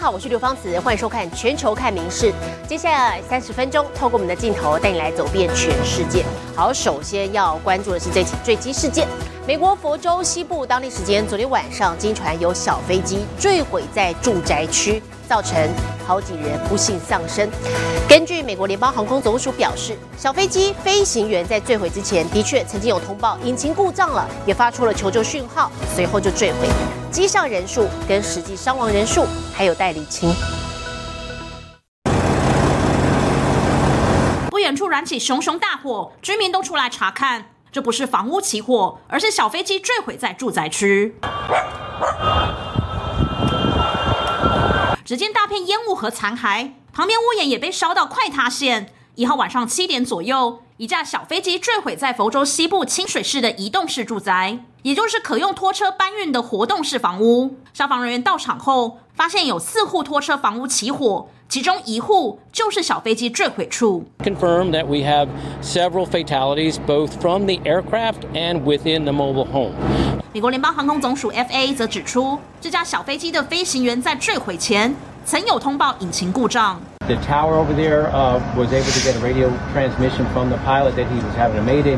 好，我是刘芳慈，欢迎收看《全球看名事》。接下来30分钟，透过我们的镜头带你来走遍全世界。好，首先要关注的是这起坠机事件。美国佛州西部当地时间昨天晚上，经传有小飞机坠毁在住宅区，造成好几人不幸丧生。根据美国联邦航空总署表示，小飞机飞行员在坠毁之前，的确曾经有通报引擎故障了，也发出了求救讯号，随后就坠毁。机上人数跟实际伤亡人数还有待厘清。 不远处燃起熊熊大火，居民都出来查看。这不是房屋起火，而是小飞机坠毁在住宅区。只见大片烟雾和残骸，旁边屋檐也被烧到快塌陷。1号晚上7点左右，一架小飞机坠毁在佛州西部清水市的移动式住宅，也就是可用拖车搬运的活动式房屋。消防人员到场后，发现有4户拖车房屋起火，其中1户就是小飞机坠毁处。 Confirm that we have several fatalities both from the aircraft and within the mobile home. 美国联邦航空总署 FAA 则指出，这架小飞机的飞行员在坠毁前曾有通报引擎故障。 The tower over there was able to get a radio transmission from the pilot that he was having a mayday,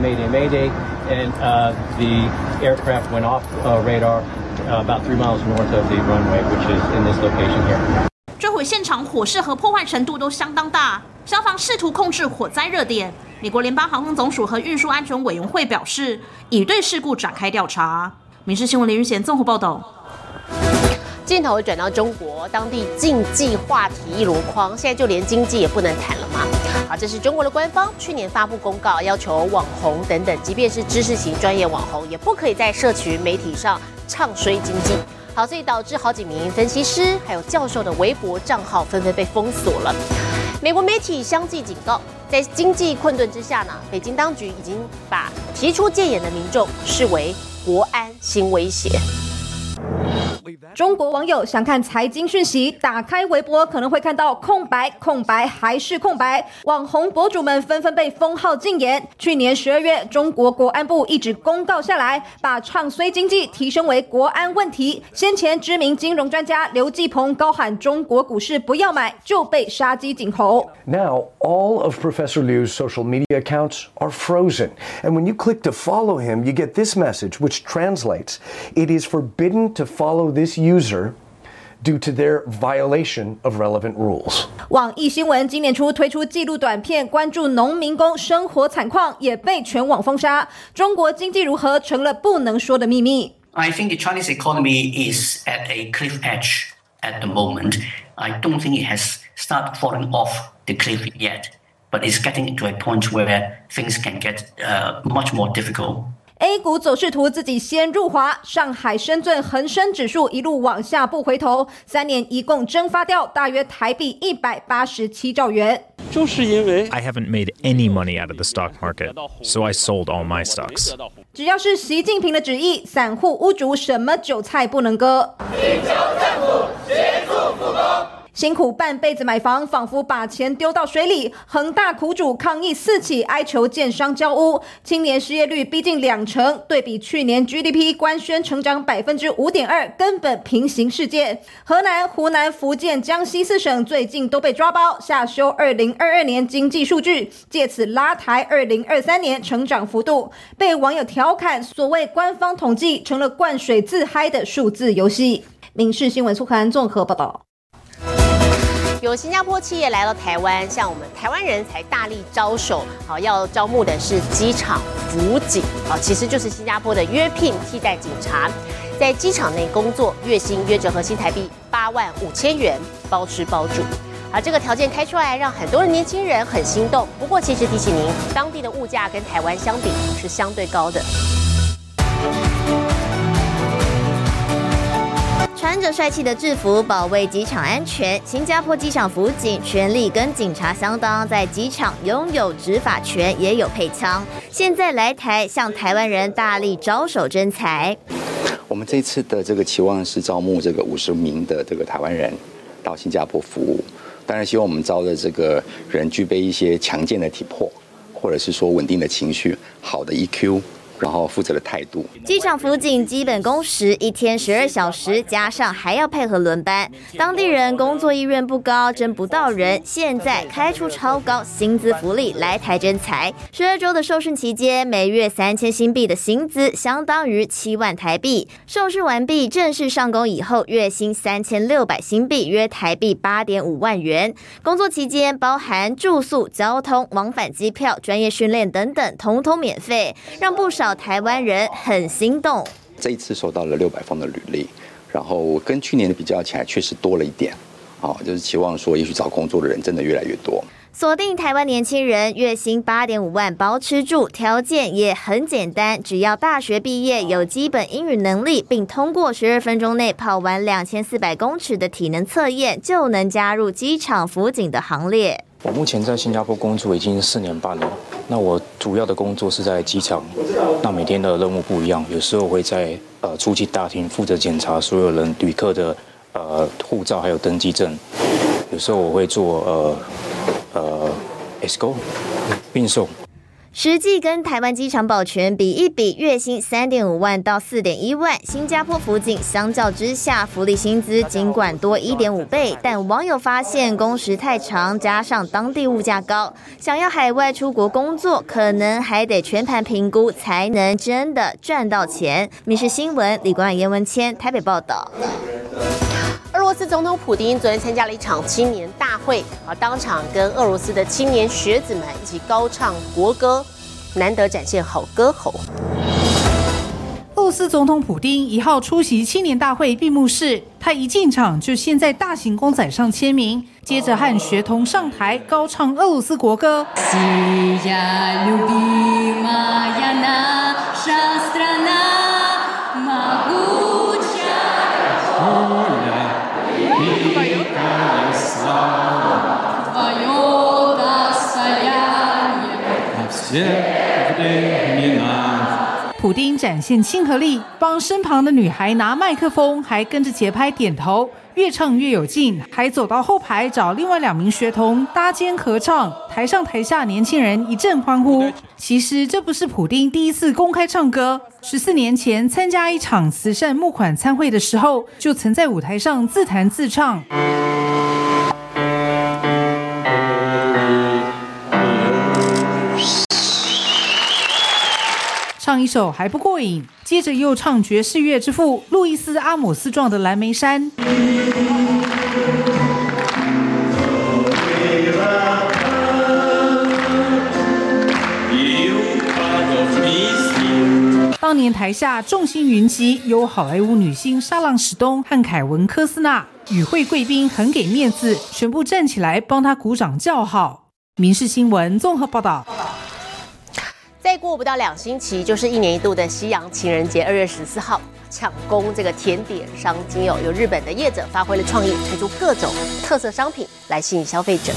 and the aircraft went off radar about 3 miles north of the runway, which is in this location here. 坠毁现场火势和破坏程度都相当大，消防试图控制火灾热点。美国联邦航空总署和运输安全委员会表示，已对事故展开调查。民事新闻林玉贤综合报道。 镜头转到中国，当地竞技话题一箩筐，现在就连经济也不能谈了吗？好，这是中国的官方去年发布公告，要求网红等等，即便是知识型专业网红，也不可以在社群媒体上唱衰经济。好，所以导致好几名分析师还有教授的微博账号纷纷被封锁了。美国媒体相继警告，在经济困顿之下呢，北京当局已经把提出戒严的民众视为国安新威胁。 中国网友想看财经讯息，打开微博可能会看到空白、空白还是空白。网红博主们纷纷被封号禁言。去年12月，中国国安部一纸公告下来，把唱衰经济提升为国安问题。先前知名金融专家刘继鹏高喊中国股市不要买，就被杀鸡儆猴。 Now, all of Professor Liu's social media accounts are frozen. And when you click to follow him, you get this message, which translates, it is forbidden to follow this user due to their violation of relevant rules. 网易新闻今年初推出纪录短片，关注农民工生活惨况，也被全网封杀。中国经济如何成了不能说的秘密。 I think the Chinese economy is at a cliff edge at the moment. I don't think it has started falling off the cliff yet, but it's getting to a point where things can get much more difficult.A 股走势图自己先入华，上海、深圳、恒生指数一路往下不回头，3年一共蒸发掉大约台币187兆元。 就是因为 I haven't made any money out of the stock market, so I sold all my stocks. 只要是习近平的旨意，散户屋主什么韭菜不能割。 请求政府协助复工。 辛苦半辈子买房，仿佛把钱丢到水里。恒大苦主抗议4起，哀求建商交屋。青年失业率逼近2%，对比去年 GDP 官宣成长5.2%，根本平行世界。河南、湖南、福建、江西4省最近都被抓包，下修2022年经济数据，借此拉抬2023年成长幅度。被网友调侃，所谓官方统计成了灌水自嗨的数字游戏。民事新闻苏涵综合报道。 有新加坡企业来到台湾，像我们台湾人才大力招手，好要招募的是机场辅警，好其实就是新加坡的约聘替代警察，在机场内工作，月薪约折合新台币85000元，包吃包住。而这个条件开出来，让很多的年轻人很心动。不过其实提醒您，当地的物价跟台湾相比是相对高的。 穿着帅气的制服保卫机场安全，新加坡机场辅警权力跟警察相当，在机场拥有执法权，也有配枪。现在来台向台湾人大力招手征才。 我们这次的这个期望是招募这个50名的这个台湾人到新加坡服务，当然希望我们招的这个人具备一些强健的体魄，或者是说稳定的情绪、好的 EQ， 然后负责的态度。 机场辅警基本工时1天12小时，加上还要配合轮班，当地人工作意愿不高，争不到人。现在开出超高薪资福利来台征才，12周的受训期间，每月3000新币的薪资，相当于7万台币。受试完毕，正式上工以后，月薪3600新币，约台币8.5万元。工作期间包含住宿、交通、往返机票、专业训练等等，统统免费，让不少台湾人很心动。 这一次收到了600封的履历，然后跟去年的比较起来，确实多了一点。就是期望说，也许找工作的人真的越来越多。 锁定台湾年轻人，月薪8.5万包吃住，条件也很简单，只要大学毕业，有基本英语能力，并通过12分钟内跑完2400公尺的体能测验，就能加入机场辅警的行列。 我目前在新加坡工作已经4年半了，那我主要的工作是在机场，那每天的任务不一样，有时候会在出境大厅负责检查所有人旅客的护照还有登机证，有时候我会做escort 运送。 实际跟台湾机场保全比一比，月薪3.5万到4.1万。新加坡辅警相较之下，福利薪资尽管多1.5倍，但网友发现工时太长，加上当地物价高，想要海外出国工作，可能还得全盘评估，才能真的赚到钱。民视新闻李冠严文谦台北报道。 俄罗斯总统普丁昨天参加了一场青年大会，当场跟俄罗斯的青年学子们一起高唱国歌，难得展现好歌喉。 俄罗斯总统普丁1号出席青年大会闭幕式，他一进场就先在大型公仔上签名，接着和学童上台高唱俄罗斯国歌。普丁展现亲和力，帮身旁的女孩拿麦克风，还跟着节拍点头，越唱越有劲，还走到后排找另外2名学童搭肩合唱，台上台下年轻人一阵欢呼。其实这不是普丁第一次公开唱歌，14年前参加一场慈善募款参会的时候，就曾在舞台上自弹自唱。唱一首还不过瘾，接着又唱爵士乐之父路易斯·阿姆斯壮的《蓝莓山》。当年台下众星云集，有好莱坞女星莎朗·史东和凯文·科斯纳，与会贵宾很给面子，全部站起来帮他鼓掌叫好。民视新闻综合报道。 再过不到2星期，就是1年1度的西洋情人节，2月14号抢攻这个甜点商机哦。有日本的业者发挥了创意，推出各种特色商品来吸引消费者。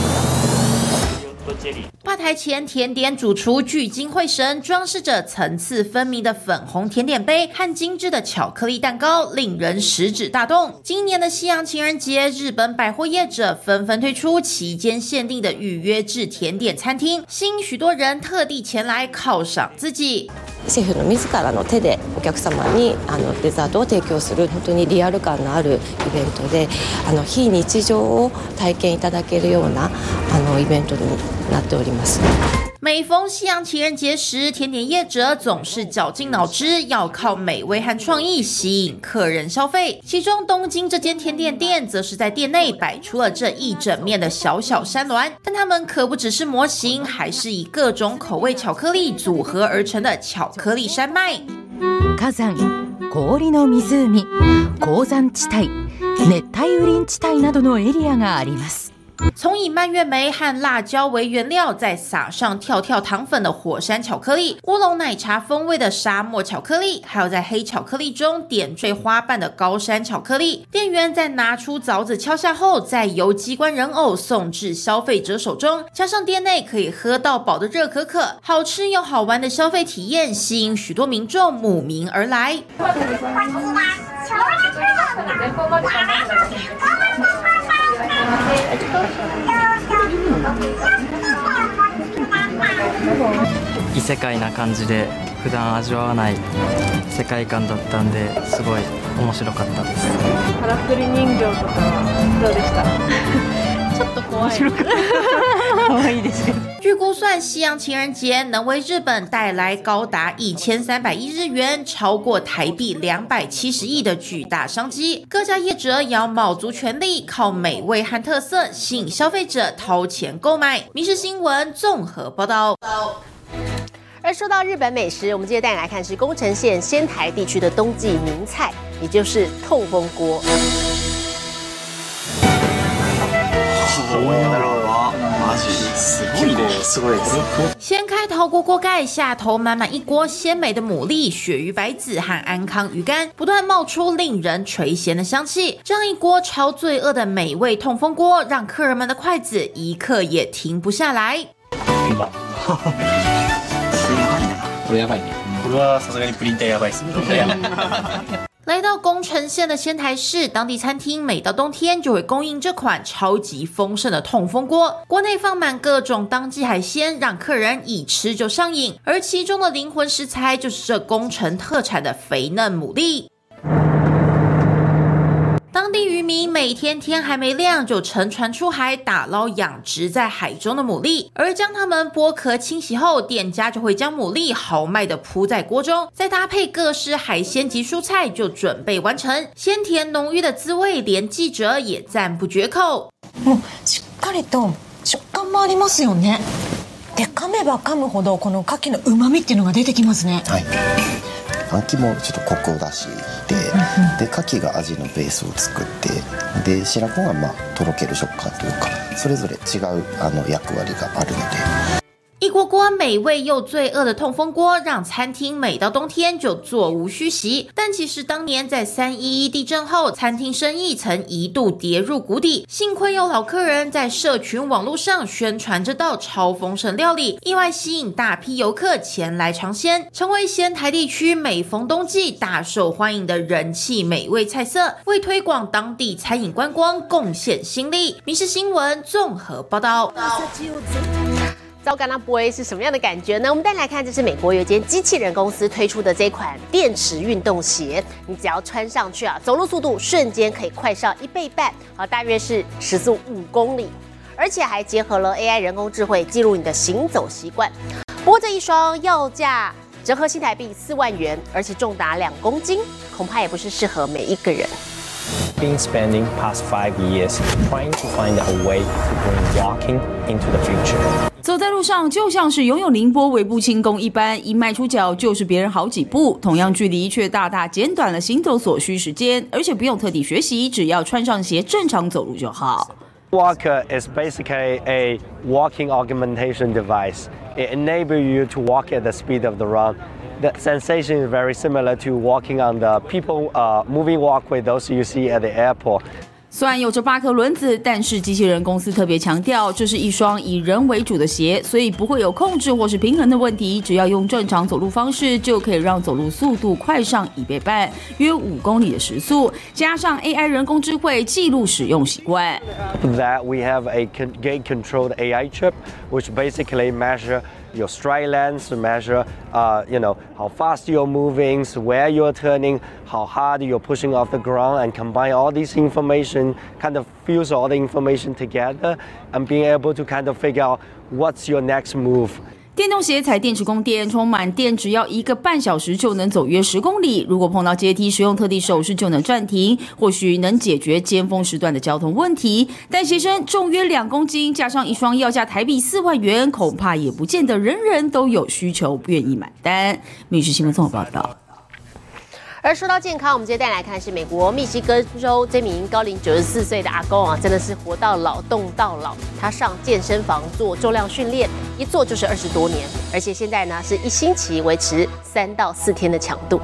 吧台前，甜点主厨聚精会神，装饰着层次分明的粉红甜点杯和精致的巧克力蛋糕，令人食指大动。今年的西洋情人节，日本百货业者纷纷推出期间限定的预约制甜点餐厅，吸引许多人特地前来犒赏自己。 シェフの自らの手でお客様にデザートを提供する本当にリアル感のあるイベントで非日常を体験いただけるようなイベントになっております。 每逢西洋情人节时，甜点业者总是绞尽脑汁，要靠美味和创意吸引客人消费。其中东京这间甜点店，则是在店内摆出了这一整面的小小山峦，但它们可不只是模型，还是以各种口味巧克力组合而成的巧克力山脉。 火山、氷の湖、鉱山地帯、熱帯雨林地帯などのエリアがあります。 从以蔓越莓和辣椒为原料，再撒上跳跳糖粉的火山巧克力、乌龙奶茶风味的沙漠巧克力，还有在黑巧克力中点缀花瓣的高山巧克力。店员在拿出凿子敲下后，再由机关人偶送至消费者手中，加上店内可以喝到饱的热可可，好吃又好玩的消费体验，吸引许多民众慕名而来。 異世界な感じで普段味わわない世界観だったんですごい面白かったです。 からくり人形とかはどうでした？ちょっと怖い。可愛いです。 据估算，西洋情人节能为日本带来高达1300亿日元，超过台币270亿的巨大商机。各家业者也要卯足全力，靠美味和特色吸引消费者掏钱购买。民视新闻综合报道。 而说到日本美食，我们接着带你来看是宫城县仙台地区的冬季名菜，也就是痛风锅。 掀开陶锅锅盖，下头满满一锅鲜美的牡蛎、鳕鱼白子和安康鱼干，不断冒出令人垂涎的香气。这样一锅超罪恶的美味痛风锅，让客人们的筷子一刻也停不下来。 これやばいね。これはさすがにプリン体やばいです。 来到宫城县的仙台市，当地餐厅每到冬天就会供应这款超级丰盛的痛风锅，锅内放满各种当季海鲜，让客人一吃就上瘾。而其中的灵魂食材就是这宫城特产的肥嫩牡蛎。当地渔民每天天还没亮就乘船出海打捞养殖在海中的牡蛎，而将它们剥壳清洗后，店家就会将牡蛎豪迈地铺在锅中，再搭配各式海鲜及蔬菜就准备完成。鲜甜浓郁的滋味，连记者也赞不绝口。 しっかりと食感もありますよね。で噛めば噛むほどこの牡蠣の旨味っていうのが出てきますね。 はい。あん肝もちょっとコクを出して、で牡蠣が味のベースを作って、で白子がとろける食感というか、それぞれ違う役割があるので。 一锅锅美味又罪恶的痛风锅，让餐厅每到冬天就座无虚席。但其实当年在311地震后，餐厅生意曾一度跌入谷底。幸亏有老客人在社群网络上宣传这道超丰盛料理，意外吸引大批游客前来尝鲜，成为仙台地区每逢冬季大受欢迎的人气美味菜色，为推广当地餐饮观光贡献心力。民视新闻综合报道。 糟糕，那不会是什么样的感觉呢？我们带来看，这是美国有一间机器人公司推出的这款电池运动鞋，你只要穿上去走路速度瞬间可以快上1倍半，大约是时速5公里，而且还结合了 AI 人工智慧，记录你的行走习惯。不过这一双要价折合新台币4万元，而且重达2公斤，恐怕也不是适合每一个人。 Been spending past 5 years trying to find a way to bring walking into the future. 走在路上就像是拥有凌波微步轻功一般，一迈出脚就是别人好几步，同样距离却大大减短了行走所需时间，而且不用特地学习，只要穿上鞋正常走路就好。 Walker is basically a walking augmentation device. It enables you to walk at the speed of the run. The sensation is very similar to walking on the people moving walkway, those you see at the airport. 虽然有着8颗轮子，但是机器人公司特别强调，这是一双以人为主的鞋，所以不会有控制或是平衡的问题。只要用正常走路方式，就可以让走路速度快上1倍半，约5公里的时速。加上 AI 人工智慧记录使用习惯。 That we have a gate-controlled AI chip, which basically measure your stride length, measure, how fast you're moving, where you're turning, how hard you're pushing off the ground, and combine all this information, kind of fuse all the information together, and being able to kind of figure out what's your next move. 电动鞋采电池供电，充满电只要1个半小时就能走约10公里。如果碰到阶梯，使用特定手势就能暂停，或许能解决尖峰时段的交通问题。但鞋身重约2公斤，加上一双要价台币4万元，恐怕也不见得人人都有需求，愿意买单。民视新闻综合报道。 而说到健康，我们接着带来看是美国密西根州这名高龄94岁的阿公真的是活到老动到老。他上健身房做重量训练，一做就是20多年，而且现在呢是1星期维持3到4天的强度。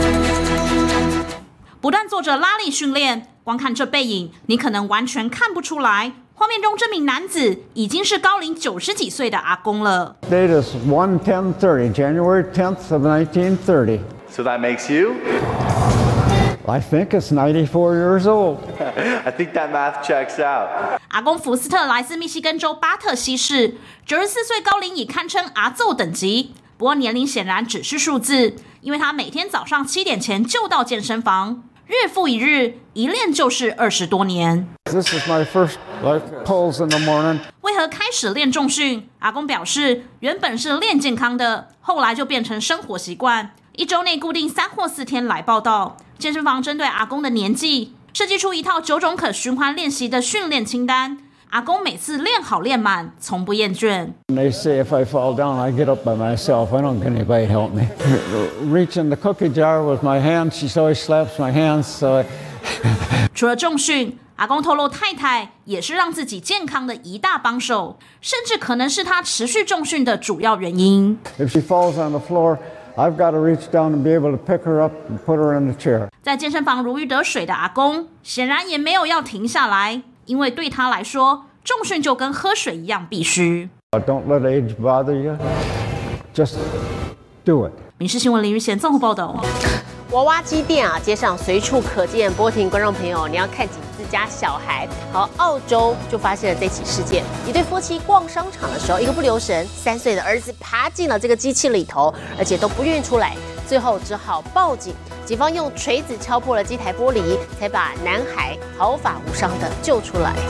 不但做着拉力训练，光看这背影，你可能完全看不出来。画面中这名男子已经是高龄90几岁的阿公了。 Date is 1/10/30, January 10th of 1930. So that makes you? I think it's 94 years old. I think that math checks out. 阿公福斯特来自密西根州巴特西市，94岁高龄已堪称阿奏等级。 不过年龄显然只是数字，因为他每天早上7点前就到健身房，日复一日，一练就是20多年。 This is my first pulls in the morning. 为何开始练重训？阿公表示，原本是练健康的，后来就变成生活习惯。1周内固定3或4天来报到。健身房针对阿公的年纪，设计出一套9种可循环练习的训练清单。阿公每次练好练满，从不厌倦。 They say if I fall down, I get up by myself. I don't get anybody help me. Reach in the cookie jar with my hands. She always slaps my hands. So 除了重训，阿公透露太太也是让自己健康的一大帮手，甚至可能是他持续重训的主要原因。 if she falls on the floor, I've got to reach down and be able to pick her up and put her in the chair. 在健身房如鱼得水的阿公，显然也没有要停下来，因为对他来说，重训就跟喝水一样必须。 Don't let age bother you. Just do it. 民视新闻林玉贤综合报道。 娃娃机店啊，街上随处可见。波婷观众朋友，你要看紧自家小孩。好，澳洲就发生了这起事件，一对夫妻逛商场的时候，一个不留神，3岁的儿子爬进了这个机器里头，而且都不愿意出来，最后只好报警。警方用锤子敲破了机台玻璃，才把男孩毫发无伤的救出来。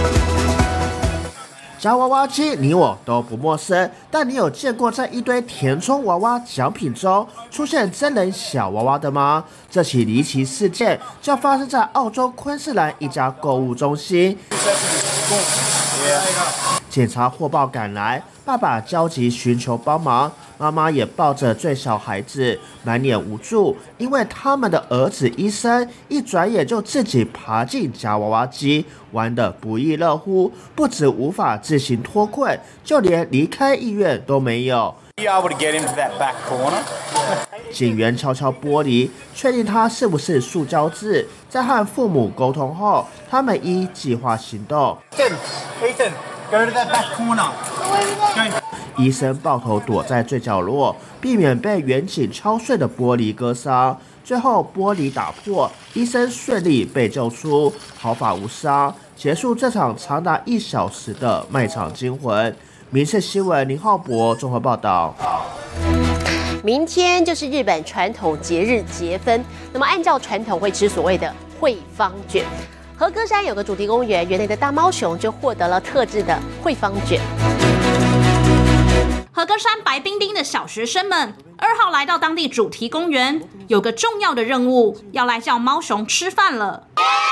夹娃娃机，你我都不陌生，但你有见过在一堆填充娃娃奖品中出现真人小娃娃的吗？这起离奇事件就发生在澳洲昆士兰一家购物中心。警察获报赶来，爸爸焦急寻求帮忙，妈妈也抱着最小孩子，满脸无助，因为他们的儿子医生一转眼就自己爬进夹娃娃机，玩得不亦乐乎，不止无法自行脱困，就连离开医院都没有。警员敲敲玻璃，确定它是不是塑胶制，在和父母沟通后，他们依计划行动。 Go to that back corner. 医生抱头躲在最角落，避免被远景敲碎的玻璃割伤。最后玻璃打破，医生顺利被救出，毫发无伤，结束这场长达1小时的卖场惊魂。民视新闻林浩博综合报道。 明天就是日本传统节日节分，那么按照传统会吃所谓的惠方卷。和歌山有个主题公园，园内的大猫熊就获得了特制的惠方卷。 和歌山白冰丁的小学生们2号来到当地主题公园，有个重要的任务，要来叫猫熊吃饭了。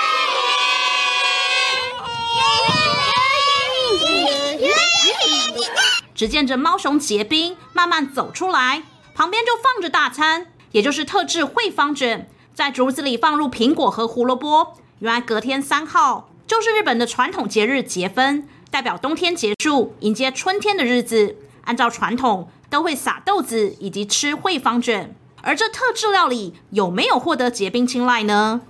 只见着猫熊结冰，慢慢走出来，旁边就放着大餐，也就是特制惠方卷，在竹子里放入苹果和胡萝卜。原来隔天3号就是日本的传统节日节分，代表冬天结束，迎接春天的日子。按照传统，都会撒豆子以及吃惠方卷。而这特制料理有没有获得结冰青睐呢？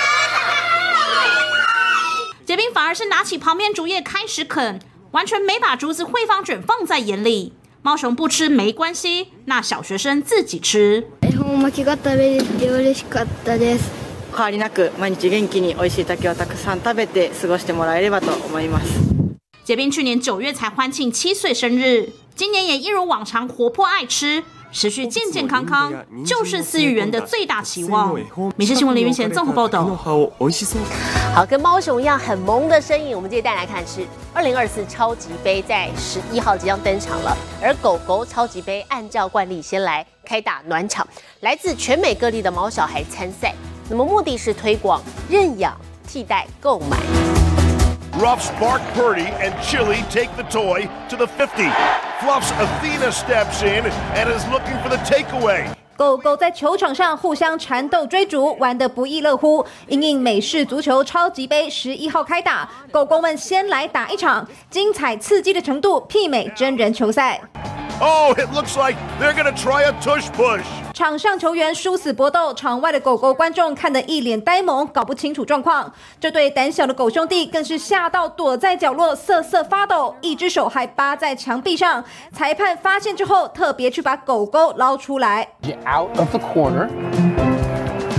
结冰反而是拿起旁边竹叶开始啃，完全没把竹子惠方卷放在眼里。猫熊不吃没关系，那小学生自己吃。 恵方巻きが食べれて嬉しかったです。変わりなく毎日元気に美味しい竹をたくさん食べて過ごしてもらえればと思います。 结冰去年9月才欢庆7岁生日，今年也一如往常活泼爱吃，持续健健康康，就是饲育员的最大期望。民视新闻林云贤综合报道。 好，跟猫熊一样很萌的身影，我们接着带来看是2024超级杯在11号即将登场了，而狗狗超级杯按照惯例先来开打暖场，来自全美各地的毛小孩参赛。那么目的是推广认养替代购买。 Ruff's Bark Purdy and Chili take the toy to the 50. Fluff's Athena steps in and is looking for the takeaway. 狗狗在球场上互相缠斗追逐，玩得不亦乐乎。因应美式足球超级杯11号开打，狗狗们先来打一场，精彩刺激的程度媲美真人球赛。 Oh, it looks like they're gonna try a tush push. 场上球员殊死搏斗，场外的狗狗观众看得一脸呆萌，搞不清楚状况。这对胆小的狗兄弟更是吓到躲在角落瑟瑟发抖，一只手还扒在墙壁上。裁判发现之后，特别去把狗狗捞出来。 Out of the corner.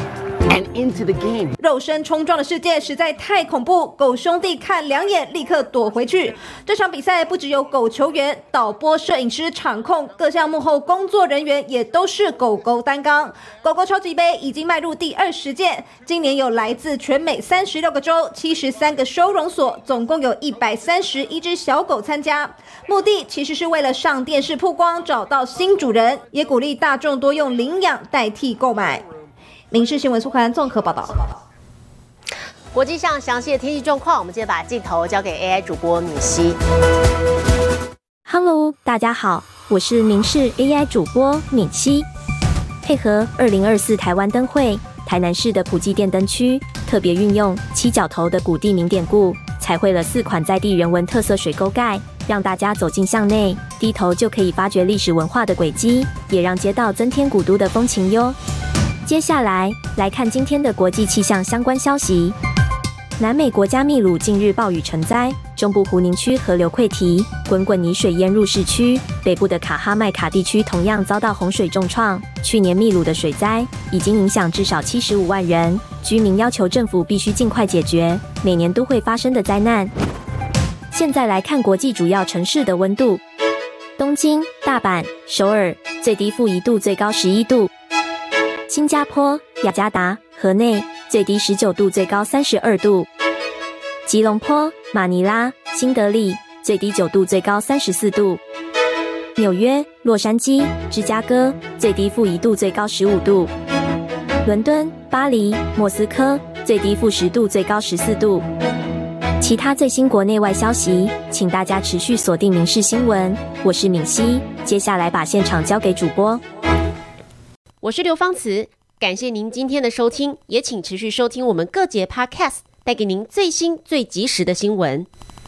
and into the game. 肉身冲撞的世界实在太恐怖，狗兄弟看两眼立刻躲回去。这场比赛不只有狗球员、导播、摄影师、场控，各项幕后工作人员也都是狗狗担纲。狗狗超级杯已经迈入第20届，今年有来自全美36个州、73个收容所，总共有131只小狗参加。目的其实是为了上电视曝光，找到新主人，也鼓励大众多用领养代替购买。民视新闻苏涵综合报道。 国际上详细的天气状况，我们接着把镜头交给 AI 主播敏熙。 Hello， 大家好，我是民视 AI 主播敏熙。配合2024台湾灯会，台南市的普济电灯区特别运用七角头的古地名典故，彩绘了4款在地人文特色水沟盖，让大家走进巷内，低头就可以发掘历史文化的轨迹，也让街道增添古都的风情哟。接下来来看今天的国际气象相关消息。南美国家秘鲁近日暴雨成灾，中部湖宁区河流溃堤，滚滚泥水淹入市区。北部的卡哈麦卡地区同样遭到洪水重创。去年秘鲁的水灾已经影响至少75万人，居民要求政府必须尽快解决每年都会发生的灾难。现在来看国际主要城市的温度：东京、大阪、首尔最低负1度，最高11度；新加坡、雅加达、河内最低19度，最高32度；吉隆坡、马尼拉、新德里最低9度，最高34度；纽约、洛杉矶、芝加哥最低负1度，最高15度；伦敦、巴黎、莫斯科最低负10度，最高14度。其他最新国内外消息，请大家持续锁定民视新闻。我是敏熙，接下来把现场交给主播。 我是刘芳慈，感谢您今天的收听，也请持续收听我们各节 Podcast， 带给您最新最及时的新闻。